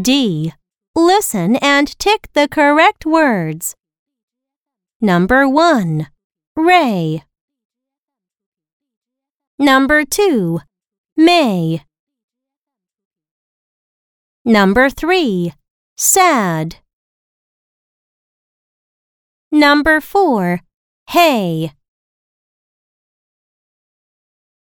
D. Listen and tick the correct words. Number 1. Ray. Number 2. May. Number 3. Sad. Number 4. Hay.